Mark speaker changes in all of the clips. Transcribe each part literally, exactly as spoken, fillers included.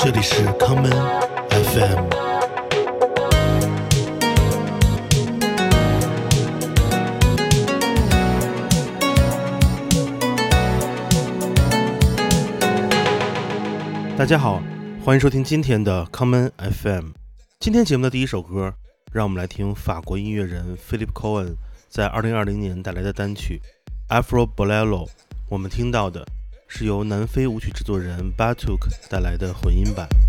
Speaker 1: 这里是 Common F M。 大家好，欢迎收听今天的 Common F M。 今天节目的第一首歌，让我们来听法国音乐人 Philip Cohen 在二零二零年带来的单曲 Afro Bolero。 我们听到的是由南非舞曲制作人 Batouk 带来的混音版。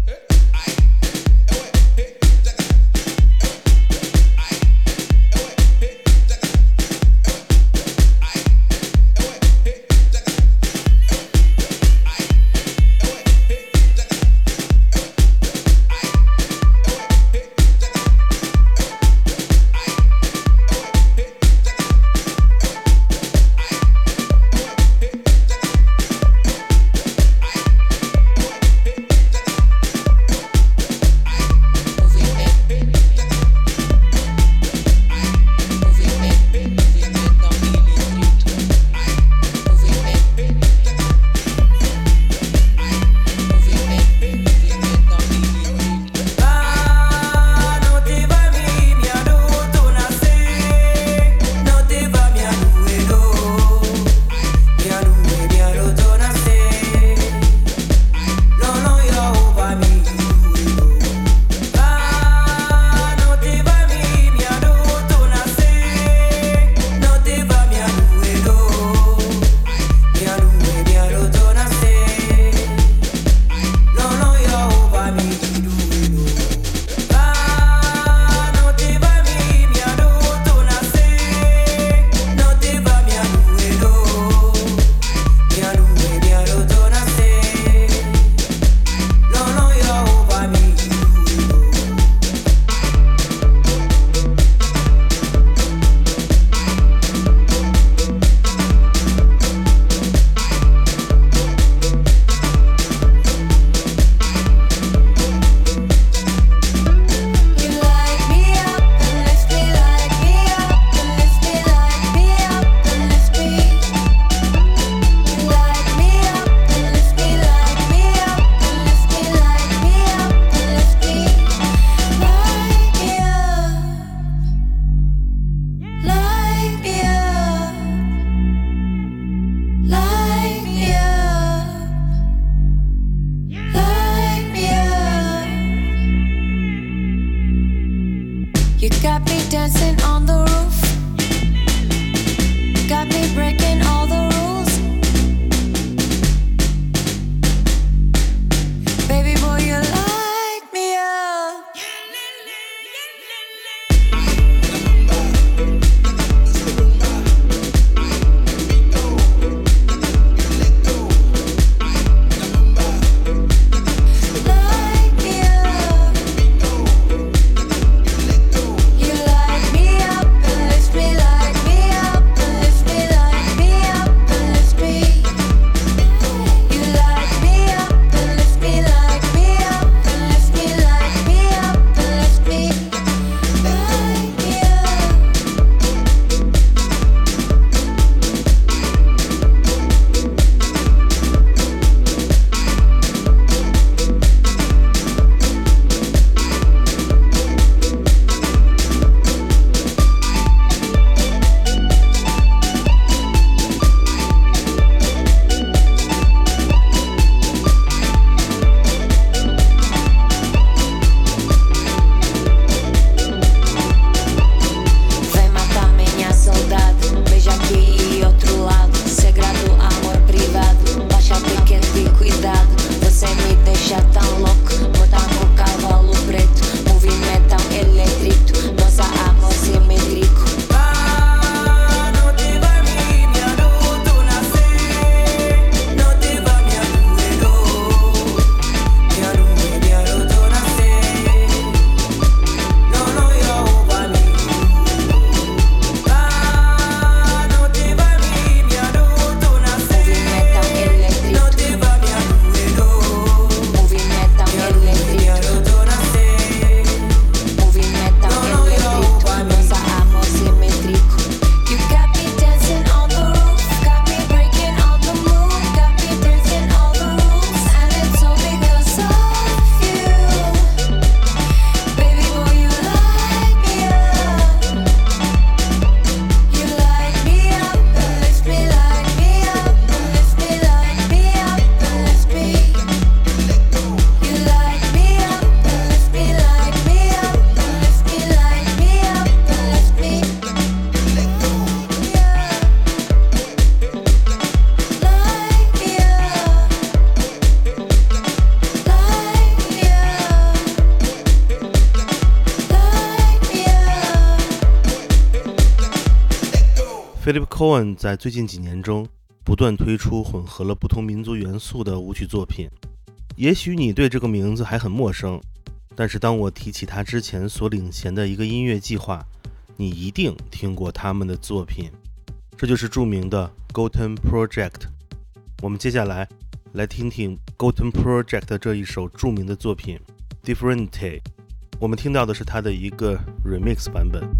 Speaker 1: Philip Cohen 在最近几年中不断推出混合了不同民族元素的舞曲作品。也许你对这个名字还很陌生，但是当我提起他之前所领衔的一个音乐计划，你一定听过他们的作品。这就是著名的 Gotham Project。 我们接下来来听听 Gotham Project 这一首著名的作品 Differente。 我们听到的是他的一个 remix 版本。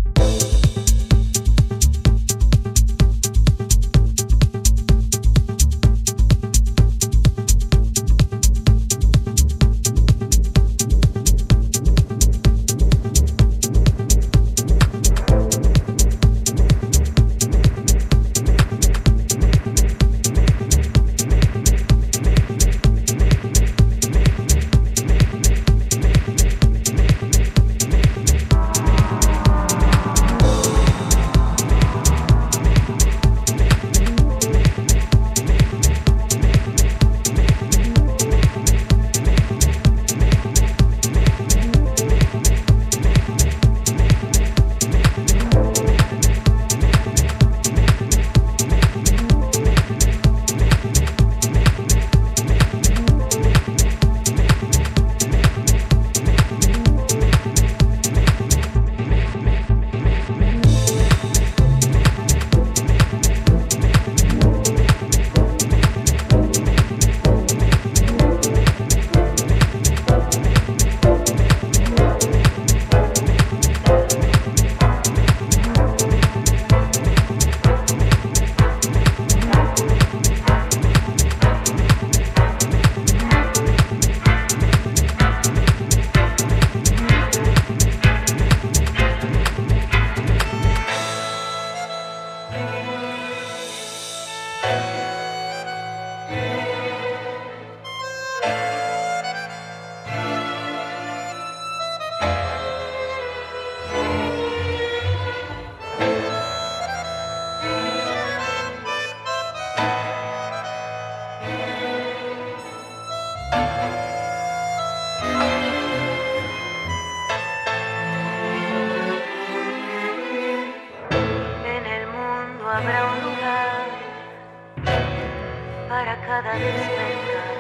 Speaker 2: Cada despertar,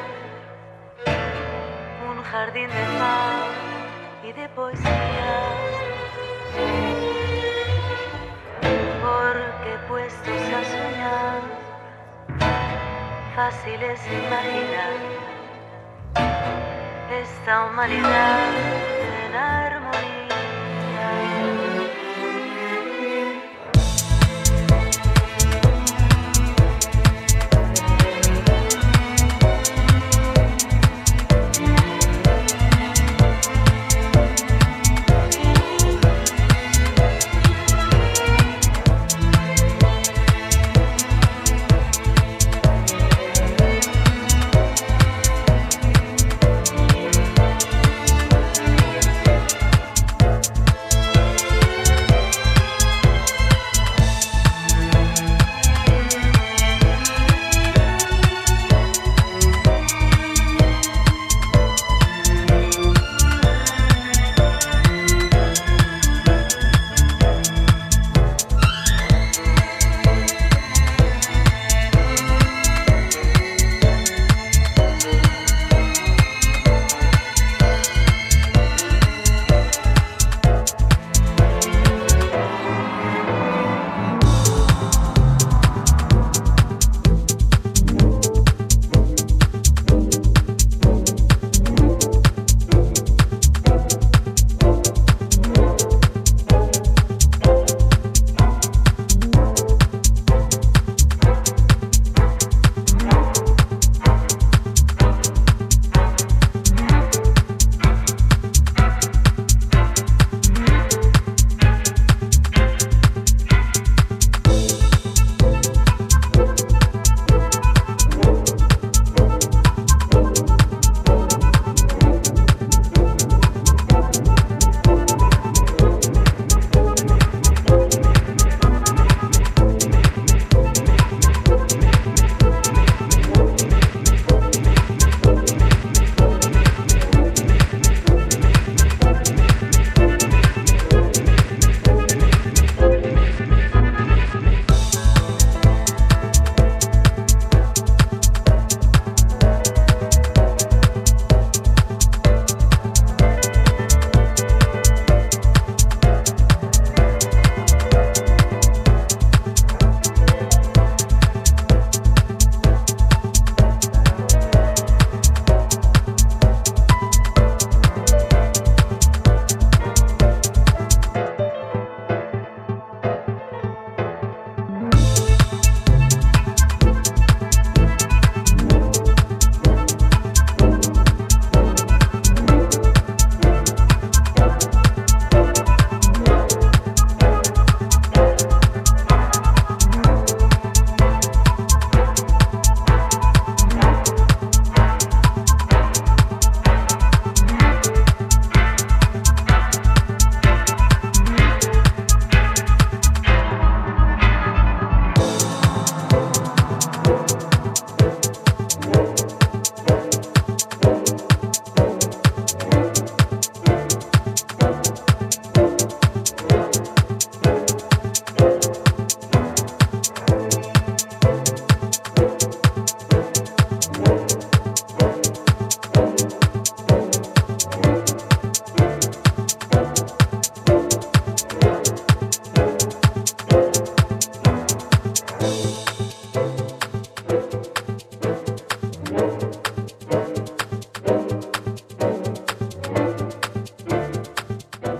Speaker 2: un jardín de paz y de poesía, porque puestos a soñar, fácil es imaginar esta humanidad en armonía.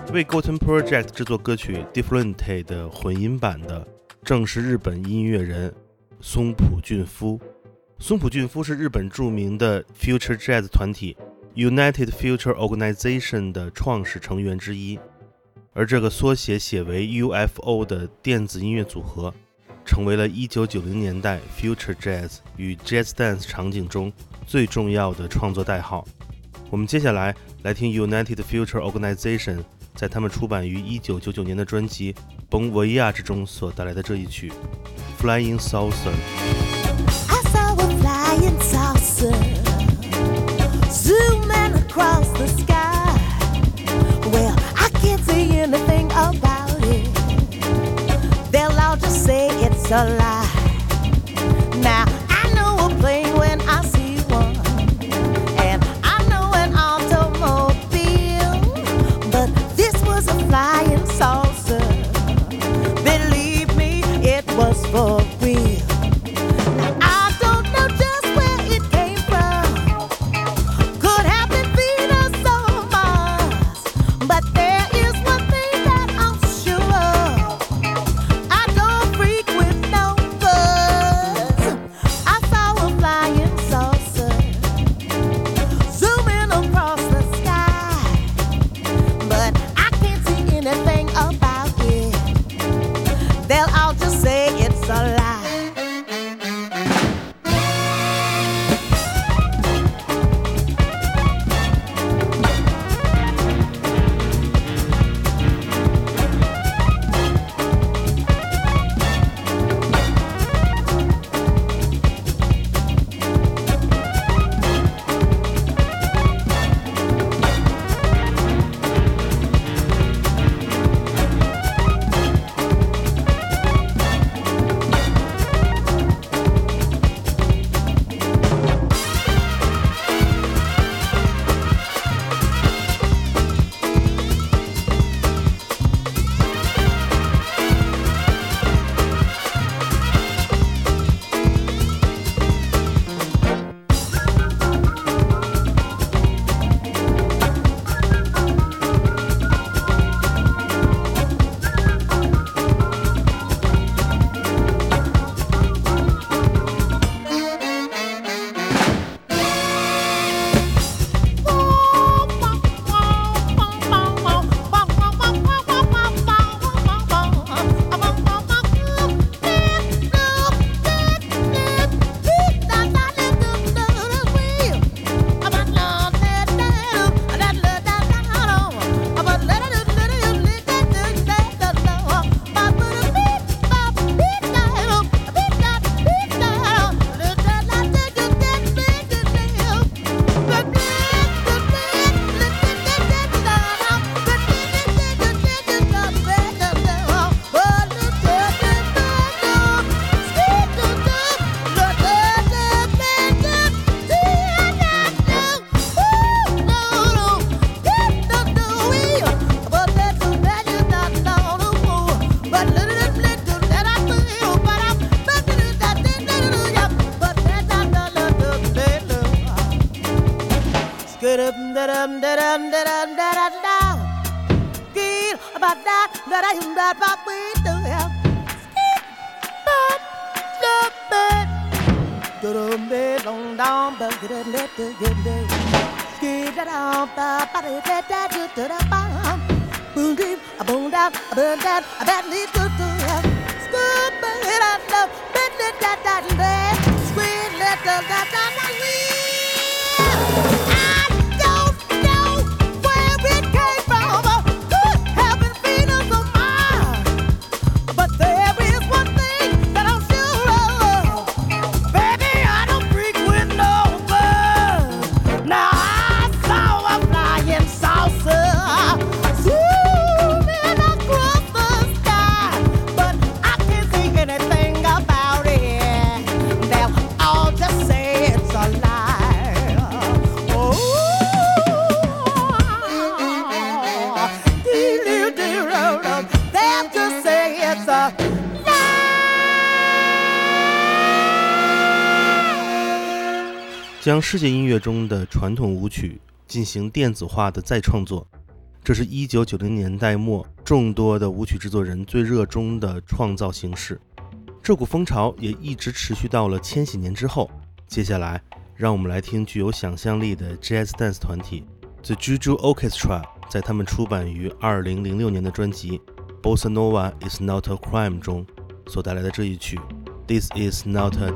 Speaker 1: 为 Goten Project 制作歌曲 Differente 的混音版的正是日本音乐人松浦俊夫。松浦俊夫是日本著名的 Future Jazz 团体 United Future Organization 的创始成员之一，而这个缩写写为 U F O 的电子音乐组合成为了一九九零年代 Future Jazz 与 Jazz Dance 场景中最重要的创作代号。我们接下来来听 United Future Organization 在他们出版于一九九九年的专辑 Bon Voyage 中所带来的这一曲 Flying Saucer。
Speaker 3: I saw a flying saucer zooming across the sky. Well, I can't say anything about it. They'll all just say it's a lie. Now, I know a plane when I see one, and I know an automobile, but this was a flying saucer. Believe me, it was for real. Now, I don't know just where it came from. Could have been Venus or Mars, but there is one thing that I'm sure of. I don't freak with no buzz. I saw a flying saucer zooming across the sky, but I can't see anything about it. They'll all just say it's a lie. It's a
Speaker 1: 将世界音乐中的传统舞曲进行电子化的再创作， 这是一九九零年代末众多的舞曲制作人最热衷的创造形式。这股风潮也一直持续到了千禧年之后。接下来让我们来听具有想象力的 Jazz Dance 团体 The Juju Orchestra 在他们出版于二零零六年的专辑 Bossa Nova is not a crime 中所带来的这一曲 This is not a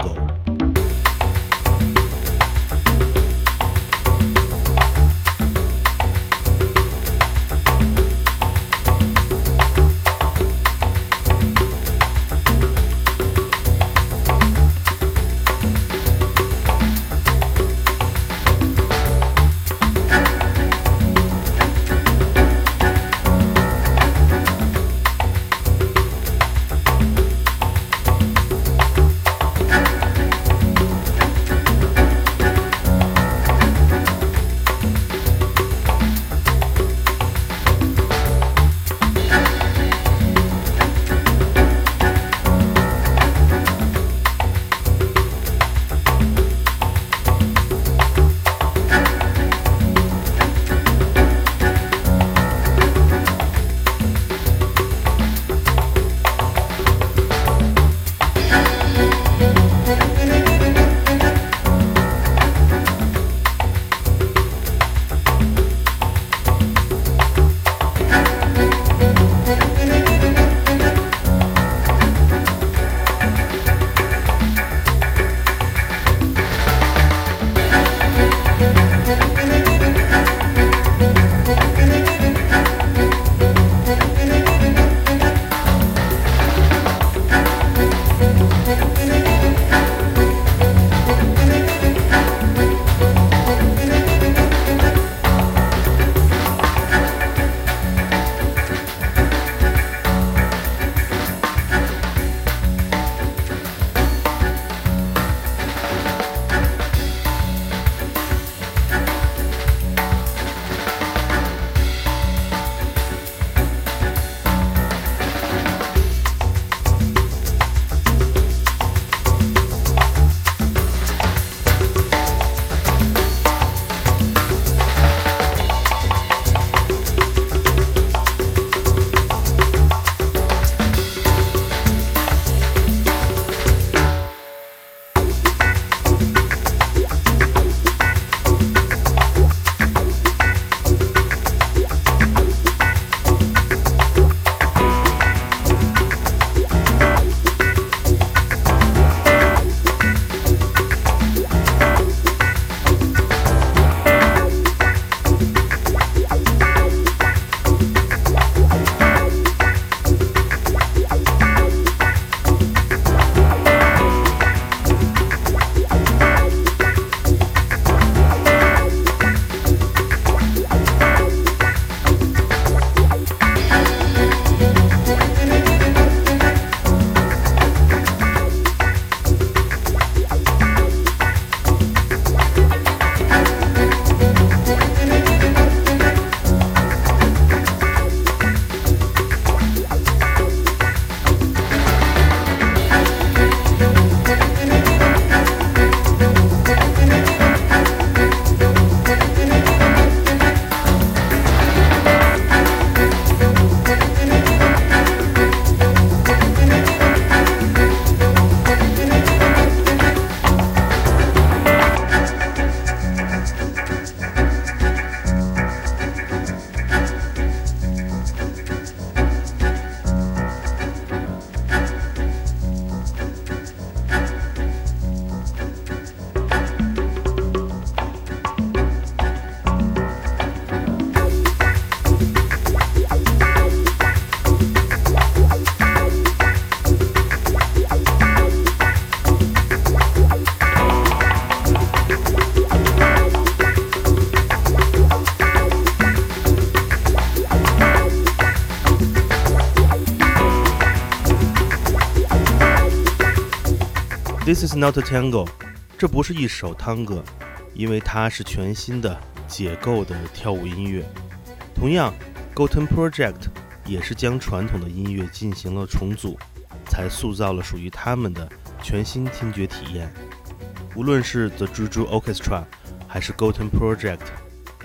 Speaker 1: tango。This is not a tango， 这不是一首探戈，因为它是全新的解构的跳舞音乐。同样 Goten Project 也是将传统的音乐进行了重组，才塑造了属于他们的全新听觉体验。无论是 The Juju Orchestra 还是 Goten Project，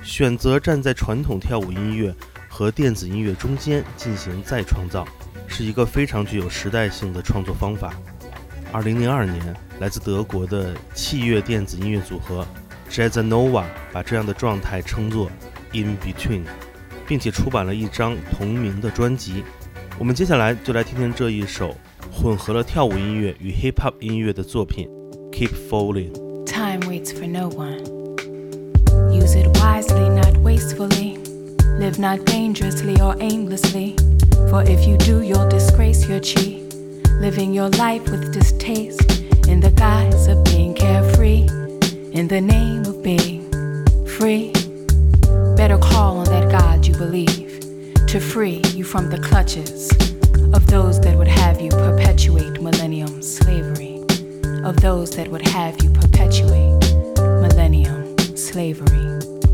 Speaker 1: 选择站在传统跳舞音乐和电子音乐中间进行再创造，是一个非常具有时代性的创作方法。二零零二年，来自德国的器乐电子音乐组合 Jazzanova 把这样的状态称作 In Between， 并且出版了一张同名的专辑。我们接下来就来听听这一首混合了跳舞音乐与 hip hop 音乐的作品 Keep Falling。Time
Speaker 4: waits for no one. Use it wisely, not wastefully. Live not dangerously or aimlessly. For if you do, you'll disgrace your chi. Living your life with distaste in the guise of being carefree. In the name of being free. Better call on that God you believe to free you from the clutches of those that would have you perpetuate millennium slavery. Of those that would have you perpetuate millennium slavery.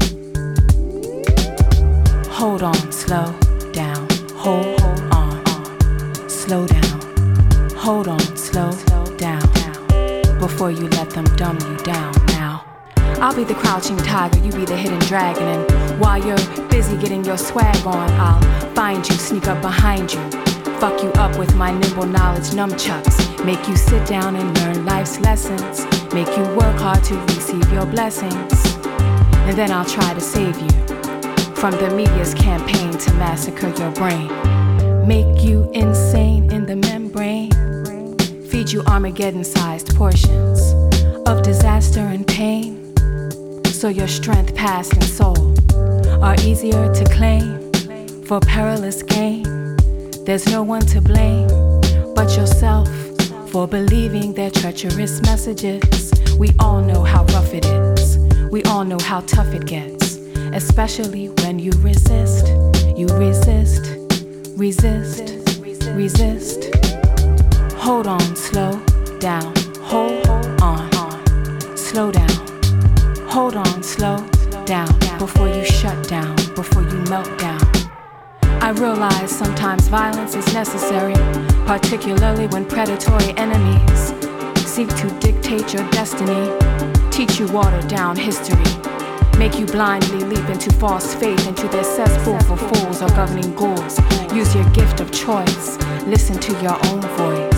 Speaker 4: Hold on, slow down, hold, hold on, on, slow down. Hold on, slow down, before you let them dumb you down now. I'll be the crouching tiger, you be the hidden dragon. And while you're busy getting your swag on, I'll find you, sneak up behind you, fuck you up with my nimble knowledge nunchucks. Make you sit down and learn life's lessons. Make you work hard to receive your blessings. And then I'll try to save you from the media's campaign to massacre your brain. Make you insane in the membrane. Feed you Armageddon-sized portions of disaster and pain. So your strength, past, and soul are easier to claim for perilous gain. There's no one to blame but yourself for believing their treacherous messages. We all know how rough it is. We all know how tough it gets. Especially when you resist. You resist, resist, resist. Hold on, slow down, hold on, slow down. Hold on, slow down, before you shut down, before you melt down. I realize sometimes violence is necessary, particularly when predatory enemies seek to dictate your destiny, teach you watered down history, make you blindly leap into false faith, into their cesspool for fools or governing ghouls. Use your gift of choice, listen to your own voice.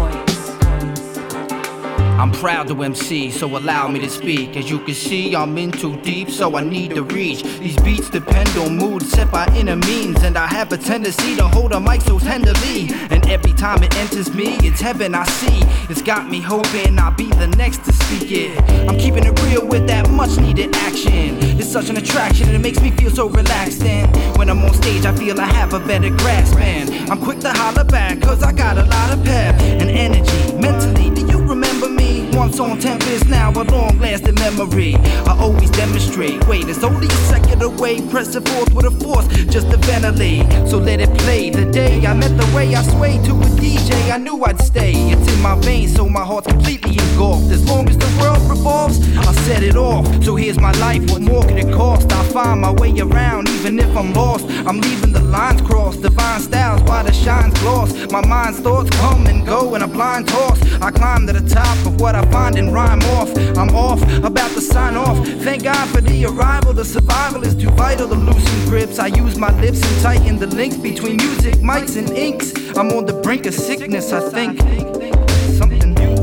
Speaker 5: I'm proud to M C, so allow me to speak. As you can see, I'm in too deep, so I need to reach. These beats depend on moods set by inner means, and I have a tendency to hold a mic so tenderly. And every time it enters me, it's heaven I see. It's got me hoping I'll be the next to speak it. I'm keeping it real with that much needed action. It's such an attraction, and it makes me feel so relaxed. And when I'm on stage, I feel I have a better grasp. And I'm quick to holler back, cause I got a lot of pep and energy. Mentally, do you remember me? Once on Tempest, now a long-lasting memory. I always demonstrate. Wait, it's only a second away. Press it forth with a force, just to ventilate. So let it play. The day I met the way I swayed to a D J, I knew I'd stay. It's in my veins, so my heart's completely engulfed. As long as the world revolves, I'll set it off. So here's my life, what more could it cost? I'll find my way around, even if I'm lost. I'm leaving the lines crossed. Divine styles, while the shine's gloss. My mind's thoughts come and go in a blind toss. I climb to the top of what I find and rhyme off. I'm off, about to sign off. Thank God for the arrival. The survival is too vital to loosen grips. I use my lips and tighten the links between music, mics, and inks. I'm on the brink of sickness, I think. Something new.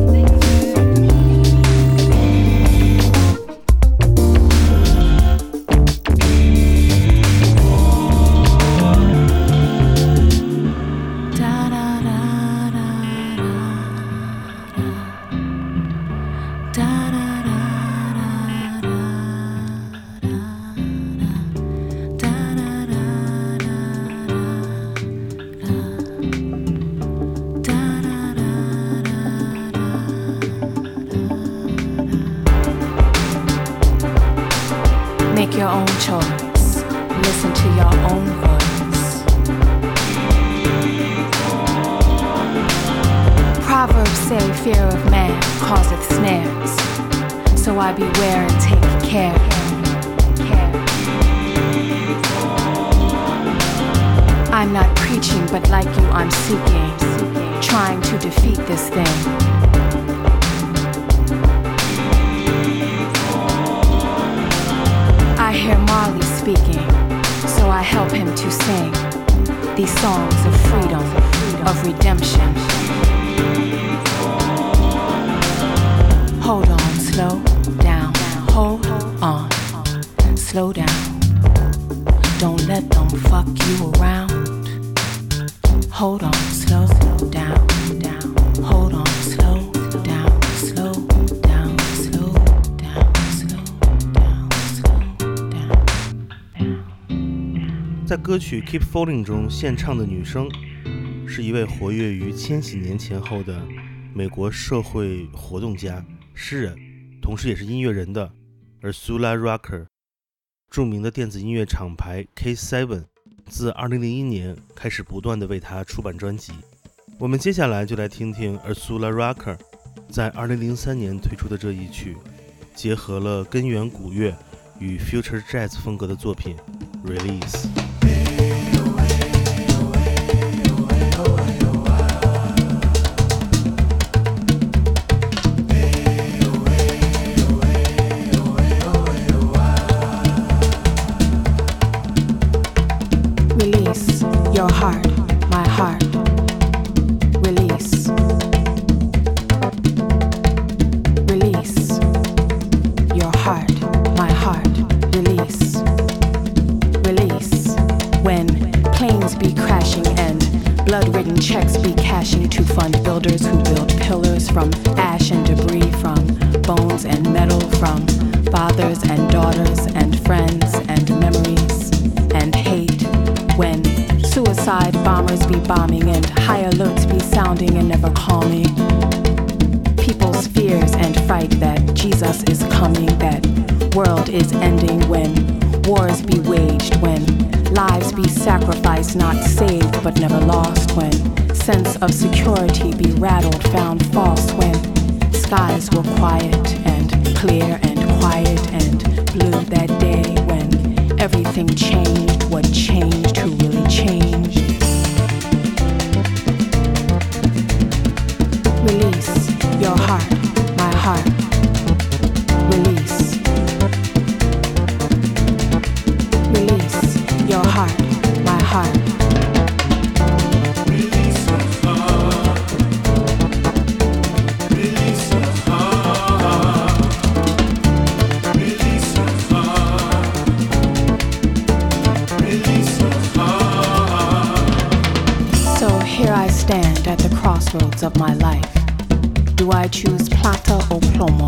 Speaker 4: Make your own choice. Listen to your own voice. Proverbs say fear of man causeth snares. So I beware and take care. care. I'm not preaching, but like you I'm seeking, trying to defeat this thing. I hear Marley speaking, so I help him to sing these songs of freedom, of redemption. Hold on, slow down, hold on, slow down. Don't let them fuck you around. Hold on, slow down, down. Hold on, slow down, slow down, slow down, slow down, slow down.
Speaker 1: 在歌曲《Keep Falling》中献唱的女生是一位活跃于千禧年前后的美国社会活动家、诗人，同时也是音乐人的 Ursula Rucker。著名的电子音乐厂牌 K 七 自二零零一年开始不断地为她出版专辑。我们接下来就来听听 Ursula Rucker 在二零零三年推出的这一曲，结合了根源古乐与 Future Jazz 风格的作品
Speaker 4: Release。Your heart, my heart. Release. Release. Your heart, my heart. Release. Release. When planes be crashing and blood-ridden checks be cashing to fund builders who build pillars from ash and debris, from bones and metal, from fathers and daughters and friends and memories and hate. When suicide bombers be bombing and high alerts be sounding and never calming. People's fears and fright that Jesus is coming, that world is ending. When wars be waged, when lives be sacrificed, not saved but never lost. When sense of security be rattled, found false. When skies were quiet and clear and quiet and blue that day. When everything changed, what changed, who really changed. Release your heart, my heart. Release. Release your heart, my heart.
Speaker 6: Release your heart. Release your heart. Release your heart. Release your heart.
Speaker 4: So here I stand at the crossroads of my life. Do I choose plata or plomo?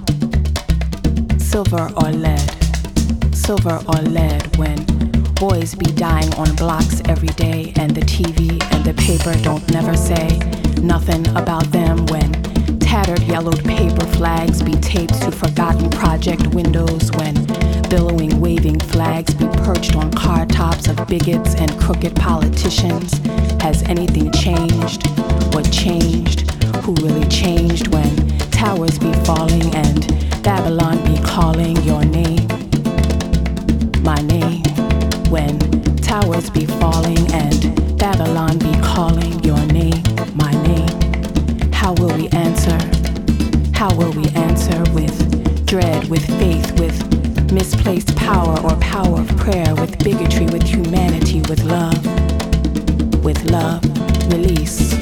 Speaker 4: Silver or lead? Silver or lead when boys be dying on blocks every day and the T V and the paper don't never say nothing about them. When tattered yellowed paper flags be taped to forgotten project windows. When billowing waving flags be perched on car tops of bigots and crooked politicians. Has anything changed? What changed? Who really changed? When towers be falling and Babylon be calling your name, my name. When towers be falling and Babylon be calling your name, my name. How will we answer? How will we answer? With dread, with faith, with misplaced power or power of prayer, with bigotry, with humanity, with love, with love. Release.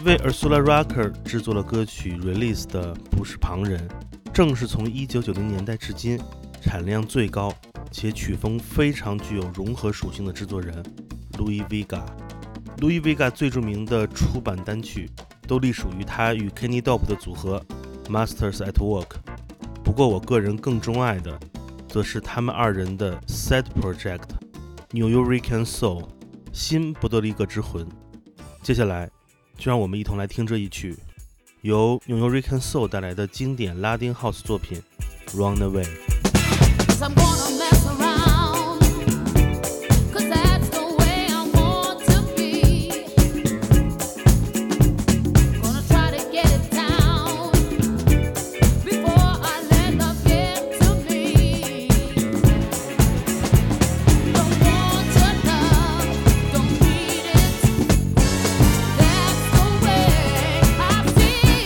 Speaker 1: 为 Ursula Rucker 制作了歌曲 Release 的不是旁人，正是从一九九零年代至今产量最高且曲风非常具有融合属性的制作人 Louis Vega。Louis Vega 最著名的出版单曲都隶属于他与 Kenny Dope 的组合 Masters at Work， 不过我个人更钟爱的则是他们二人的 Side Project New York Soul 新波多黎各之魂。接下来就让我们一同来听这一曲由 New York Soul 带来的经典拉丁 House 作品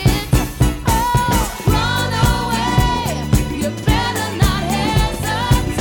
Speaker 1: Run away。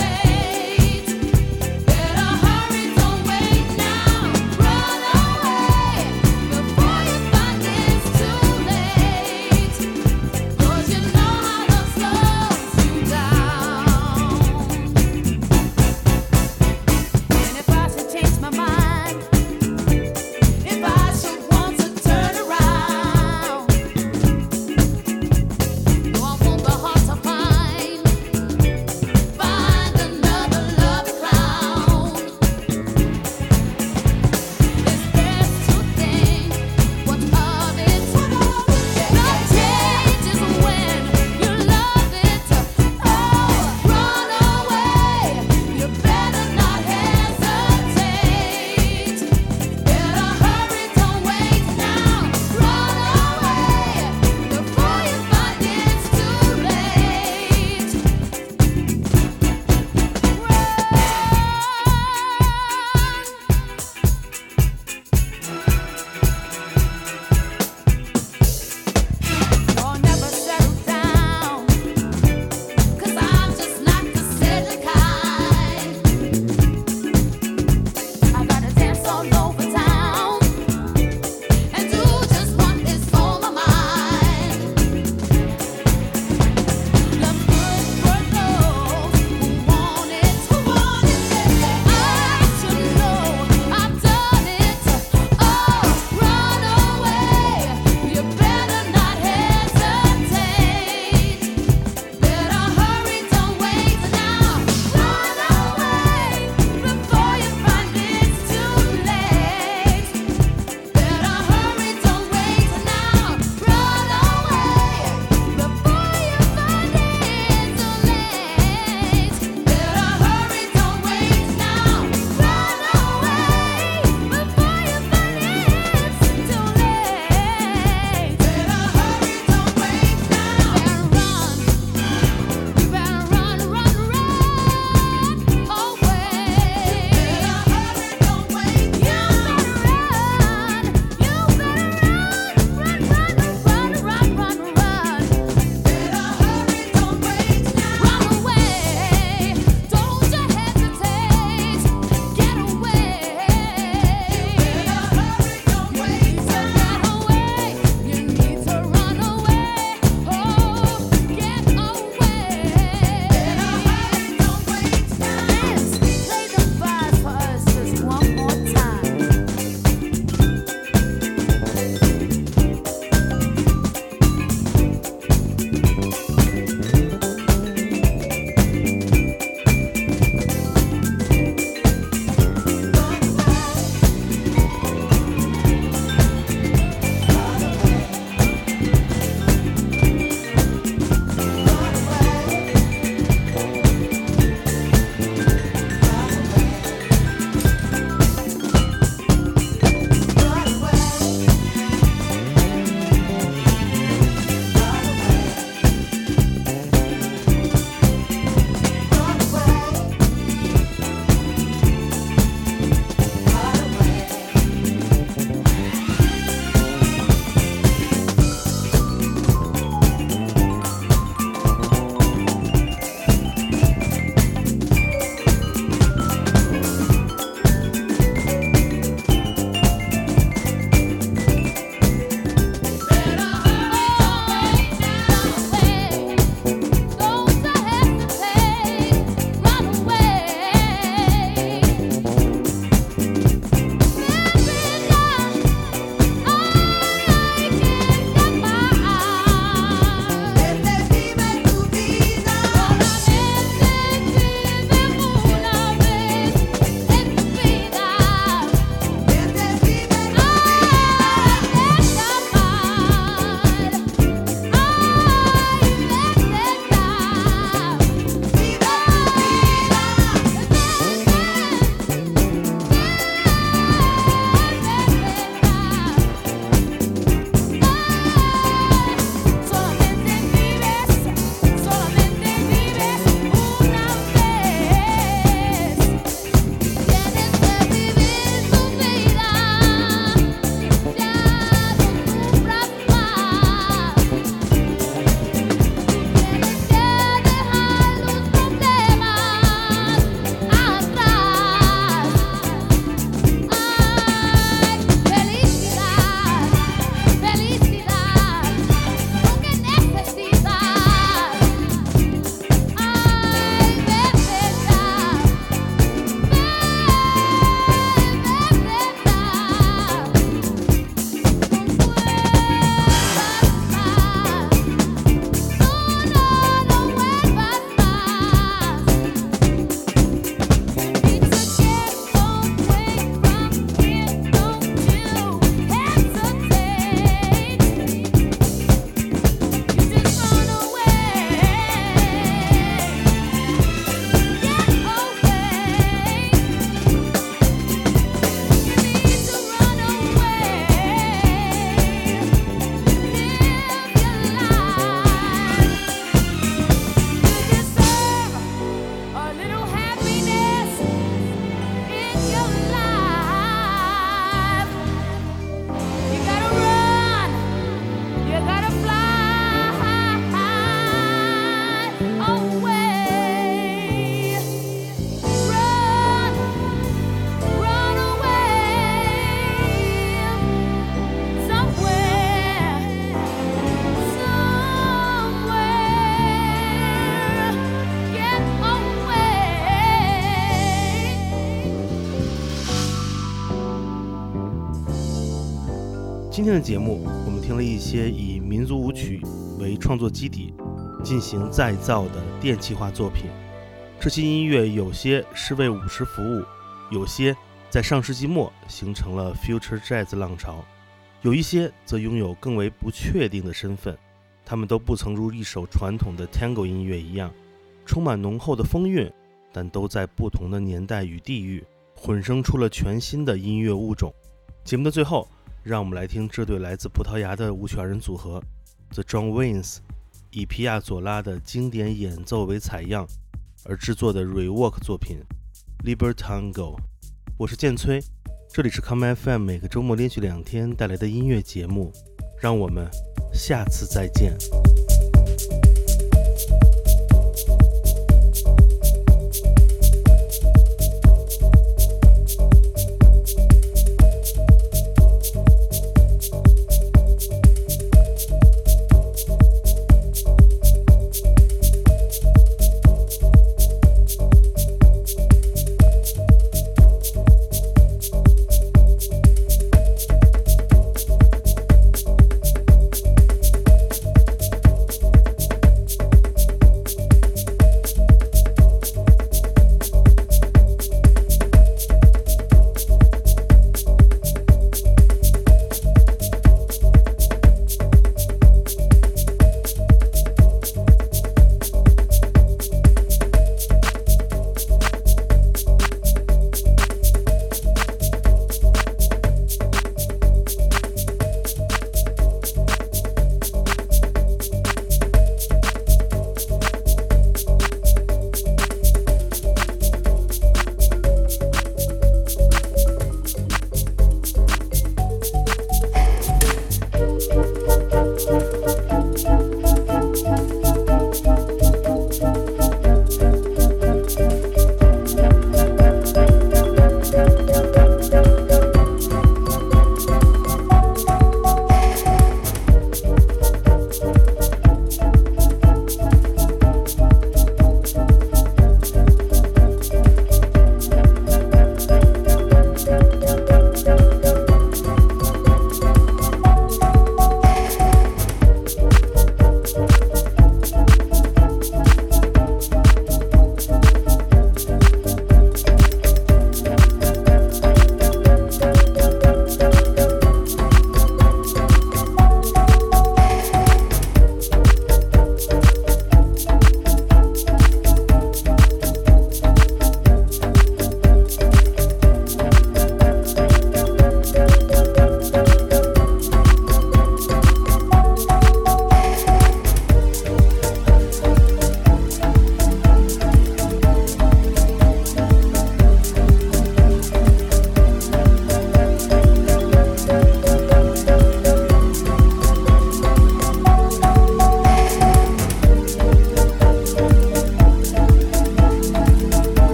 Speaker 1: 今天的节目，我们听了一些以民族舞曲为创作基底进行再造的电气化作品。这些音乐有些是为舞狮服务，有些在上世纪末形成了 Future Jazz 浪潮，有一些则拥有更为不确定的身份。他们都不曾如一首传统的 Tango 音乐一样充满浓厚的风韵，但都在不同的年代与地域混生出了全新的音乐物种。节目的最后，让我们来听这对来自葡萄牙的舞曲二人组合 The John Waynes 以皮亚佐拉的经典演奏为采样而制作的 rework 作品 Libertango。 我是建崔，这里是 Come F M 每个周末连续两天带来的音乐节目，让我们下次再见。